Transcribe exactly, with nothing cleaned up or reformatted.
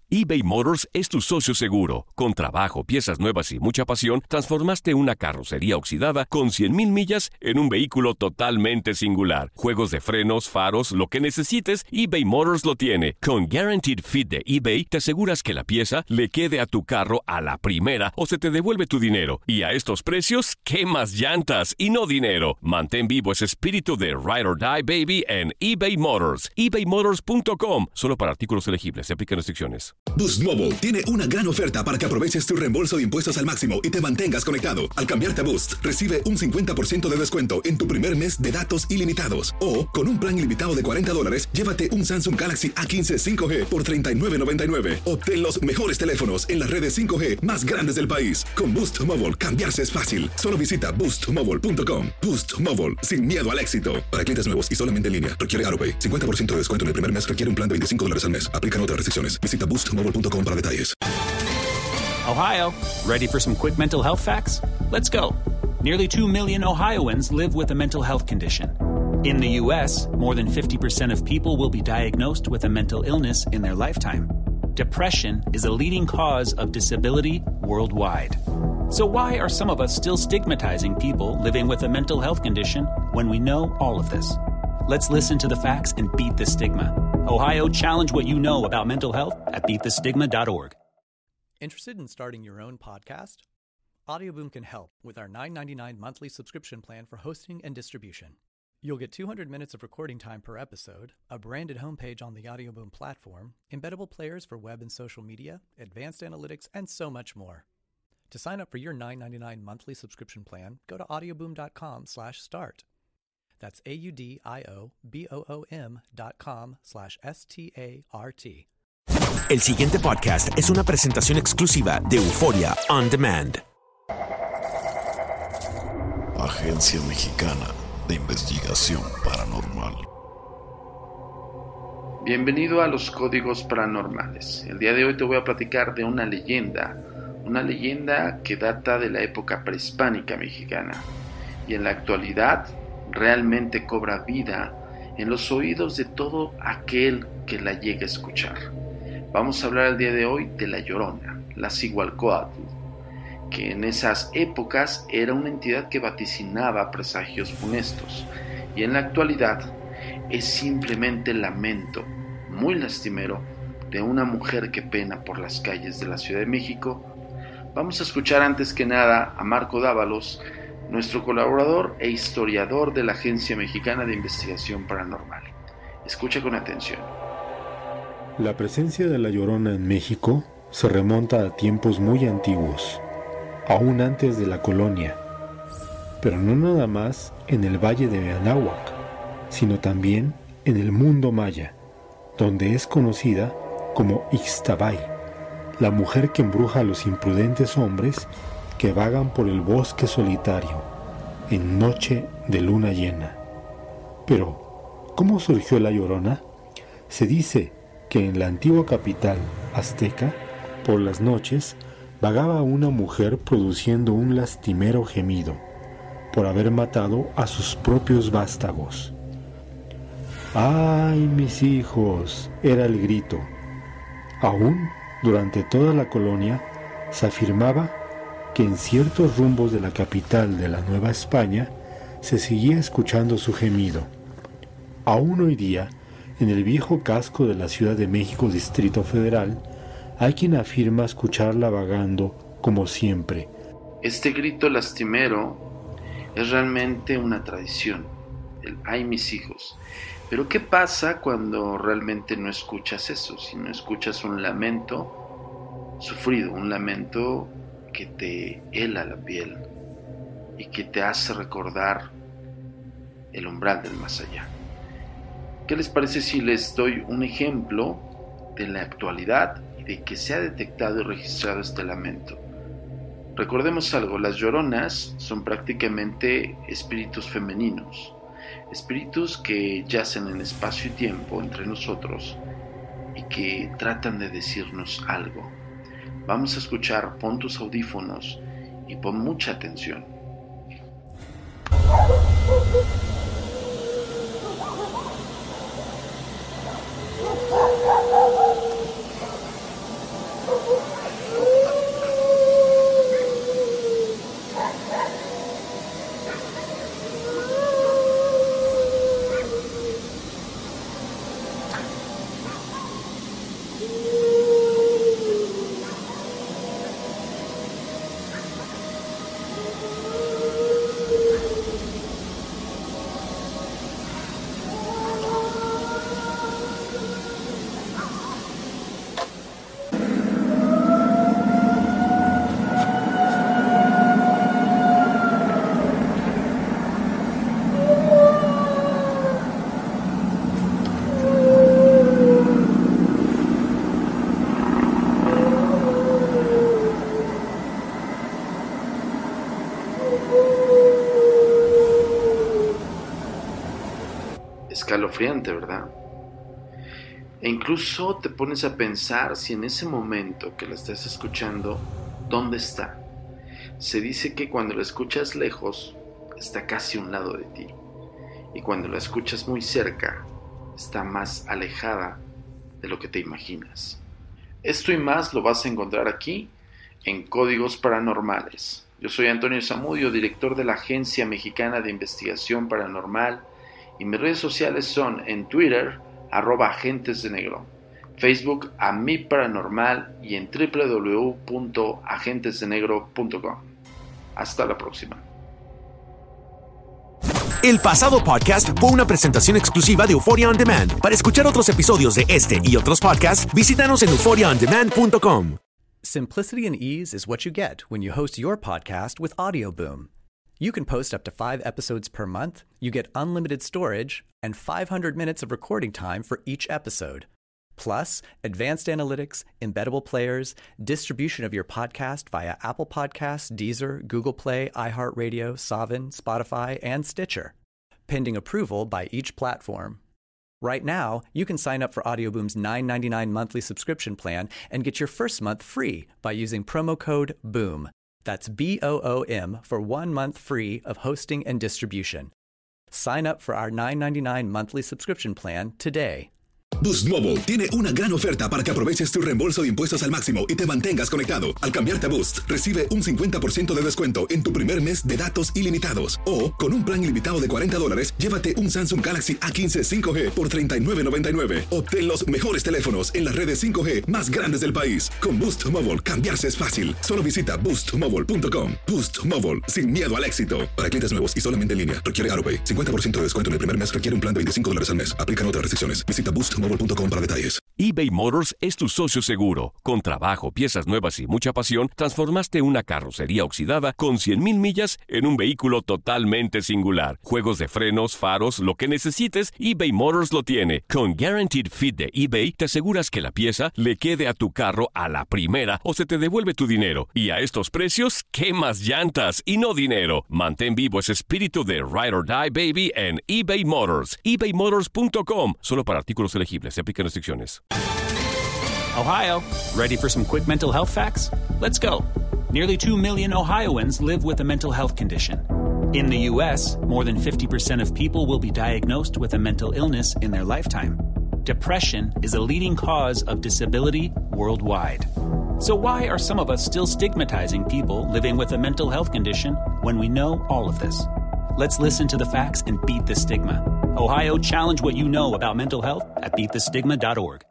eBay Motors es tu socio seguro. Con trabajo, piezas nuevas y mucha pasión, transformaste una carrocería oxidada con cien mil millas en un vehículo totalmente singular. Juegos de frenos, faros, lo que necesites, eBay Motors lo tiene. Con Guaranteed Fit de eBay, te aseguras que la pieza le quede a tu carro a la primera o se te devuelve tu dinero. Y a estos precios, ¿qué más llantas y no dinero? Mantén vivo ese espíritu de Ride or Die, baby, en eBay Motors. ebay motors punto com. Solo para artículos elegibles. Se aplican restricciones. Boost Mobile tiene una gran oferta para que aproveches tu reembolso de impuestos al máximo y te mantengas conectado. Al cambiarte a Boost, recibe un cincuenta por ciento de descuento en tu primer mes de datos ilimitados. O, con un plan ilimitado de cuarenta dólares, llévate un Samsung Galaxy A quince cinco G por treinta y nueve noventa y nueve. Obtén los mejores teléfonos en las redes cinco G más grandes del país. Con Boost Mobile, cambiarse es fácil. Solo visita boost mobile punto com. Boost Mobile, sin miedo al éxito. Para clientes nuevos y solamente en línea, requiere AutoPay. cincuenta por ciento de descuento en el primer mes, requiere un plan de veinticinco dólares al mes. Aplican otras restricciones. Visita boost mobile punto com para detalles. Ohio, ready for some quick mental health facts? Let's go. Nearly two million Ohioans live with a mental health condition. In the U S, more than fifty percent of people will be diagnosed with a mental illness in their lifetime. Depression is a leading cause of disability worldwide. So why are some of us still stigmatizing people living with a mental health condition when we know all of this? Let's listen to the facts and beat the stigma. Ohio, challenge what you know about mental health at beat the stigma dot org. Interested in starting your own podcast? Audioboom can help with our nine ninety-nine monthly subscription plan for hosting and distribution. You'll get two hundred minutes of recording time per episode, a branded homepage on the Audioboom platform, embeddable players for web and social media, advanced analytics, and so much more. To sign up for your nine ninety-nine monthly subscription plan, go to audioboom dot com slash start. That's A-U-D-I-O-B-O-O-M dot com slash S-T-A-R-T. El siguiente podcast es una presentación exclusiva de Euforia On Demand. Agencia Mexicana de Investigación Paranormal. Bienvenido a los Códigos Paranormales. El día de hoy te voy a platicar de una leyenda, una leyenda que data de la época prehispánica mexicana y en la actualidad realmente cobra vida en los oídos de todo aquel que la llegue a escuchar. Vamos a hablar el día de hoy de La Llorona, la Cihualcoatl, que en esas épocas era una entidad que vaticinaba presagios funestos y en la actualidad es simplemente el lamento muy lastimero de una mujer que pena por las calles de la Ciudad de México. Vamos a escuchar antes que nada a Marco Dávalos, nuestro colaborador e historiador de la Agencia Mexicana de Investigación Paranormal. Escucha con atención. La presencia de la Llorona en México se remonta a tiempos muy antiguos, aún antes de la colonia, pero no nada más en el Valle de Anáhuac, sino también en el mundo maya, donde es conocida como Ixtabay, la mujer que embruja a los imprudentes hombres que vagan por el bosque solitario en noche de luna llena. Pero, ¿cómo surgió la Llorona? Se dice que en la antigua capital azteca, por las noches, vagaba una mujer produciendo un lastimero gemido por haber matado a sus propios vástagos. ¡Ay, mis hijos!, era el grito. Aún durante toda la colonia se afirmaba que en ciertos rumbos de la capital de la Nueva España se seguía escuchando su gemido. Aún hoy día, en el viejo casco de la Ciudad de México, Distrito Federal, hay quien afirma escucharla vagando como siempre. Este grito lastimero es realmente una tradición, el ¡ay, mis hijos! Pero ¿qué pasa cuando realmente no escuchas eso? Si no escuchas un lamento sufrido, un lamento que te hela la piel y que te hace recordar el umbral del más allá. ¿Qué les parece si les doy un ejemplo de la actualidad y de que se ha detectado y registrado este lamento? Recordemos algo, las lloronas son prácticamente espíritus femeninos, espíritus que yacen en espacio y tiempo entre nosotros y que tratan de decirnos algo. Vamos a escuchar, pon tus audífonos y pon mucha atención. escalofriante, ¿verdad? E incluso te pones a pensar si en ese momento que la estás escuchando, ¿dónde está? Se dice que cuando la escuchas lejos, está casi a un lado de ti. Y cuando la escuchas muy cerca, está más alejada de lo que te imaginas. Esto y más lo vas a encontrar aquí en Códigos Paranormales. Yo soy Antonio Zamudio, director de la Agencia Mexicana de Investigación Paranormal, y mis redes sociales son en Twitter, arroba Agentes de Negro, Facebook a Mi Paranormal y en doble u doble u doble u punto agentes de negro punto com. Hasta la próxima. El pasado podcast fue una presentación exclusiva de Euphoria On Demand. Para escuchar otros episodios de este y otros podcasts, visítanos en euphoria on demand punto com. Simplicity and ease is what you get when you host your podcast with Audioboom. You can post up to five episodes per month, you get unlimited storage, and five hundred minutes of recording time for each episode. Plus, advanced analytics, embeddable players, distribution of your podcast via Apple Podcasts, Deezer, Google Play, iHeartRadio, Savin, Spotify, and Stitcher, pending approval by each platform. Right now, you can sign up for Audioboom's nine ninety-nine monthly subscription plan and get your first month free by using promo code BOOM. That's B O O M for one month free of hosting and distribution. Sign up for our nine ninety-nine monthly subscription plan today. Boost Mobile tiene una gran oferta para que aproveches tu reembolso de impuestos al máximo y te mantengas conectado. Al cambiarte a Boost, recibe un cincuenta por ciento de descuento en tu primer mes de datos ilimitados. O, con un plan ilimitado de cuarenta dólares, llévate un Samsung Galaxy A quince cinco G por treinta y nueve noventa y nueve. Obtén los mejores teléfonos en las redes cinco G más grandes del país. Con Boost Mobile, cambiarse es fácil. Solo visita boost mobile punto com. Boost Mobile, sin miedo al éxito. Para clientes nuevos y solamente en línea, requiere AutoPay. cincuenta por ciento de descuento en el primer mes requiere un plan de veinticinco dólares al mes. Aplican otras restricciones. Visita boost mobile punto com para detalles. eBay Motors es tu socio seguro. Con trabajo, piezas nuevas y mucha pasión, transformaste una carrocería oxidada con cien mil millas en un vehículo totalmente singular. Juegos de frenos, faros, lo que necesites, eBay Motors lo tiene. Con Guaranteed Fit de eBay, te aseguras que la pieza le quede a tu carro a la primera o se te devuelve tu dinero. Y a estos precios, ¿qué más llantas y no dinero? Mantén vivo ese espíritu de Ride or Die, baby, en eBay Motors. ebay motors punto com. Solo para artículos elegibles. Se aplican restricciones. Ohio, ready for some quick mental health facts? Let's go. Nearly two million Ohioans live with a mental health condition. In the U S, more than fifty percent of people will be diagnosed with a mental illness in their lifetime. Depression is a leading cause of disability worldwide. So why are some of us still stigmatizing people living with a mental health condition when we know all of this? Let's listen to the facts and beat the stigma. Ohio, challenge what you know about mental health at beat the stigma dot org.